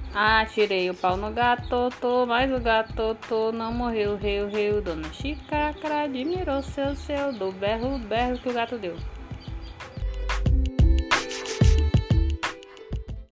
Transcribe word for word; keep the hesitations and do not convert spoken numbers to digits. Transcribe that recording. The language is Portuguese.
Atirei o pau no gato, tô, mas o gato tô, não morreu, reu, reu. Dona Xícara admirou seu, seu, do berro, berro que o gato deu.